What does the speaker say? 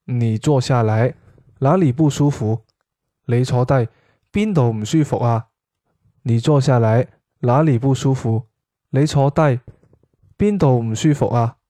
你坐下來，哪裡不舒服？你坐低，邊度唔舒服啊？你坐下來，哪裡不舒服？你坐低，邊度唔舒服啊？